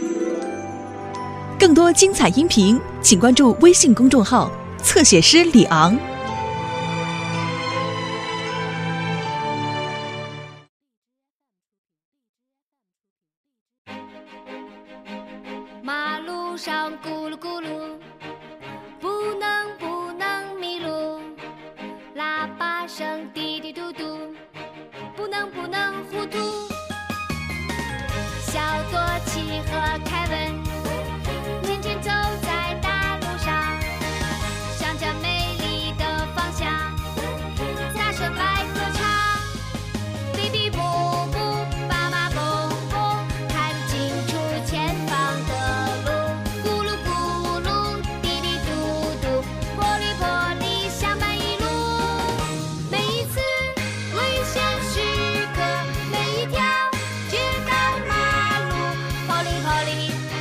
更多精彩音频，请关注微信公众号“侧写师李昂”。 马路上咕噜咕噜，不能迷路。喇叭声滴滴嘟嘟，不能糊涂。小多奇和凯文天天走在大路上，向着美丽的方向大声来歌唱。哔哔啵啵，爸爸蹦蹦，看清楚前方的路。咕噜咕噜，滴滴嘟嘟，玻璃玻璃相伴一路。每一次危险时刻，每一条街道马路，跑哩跑哩。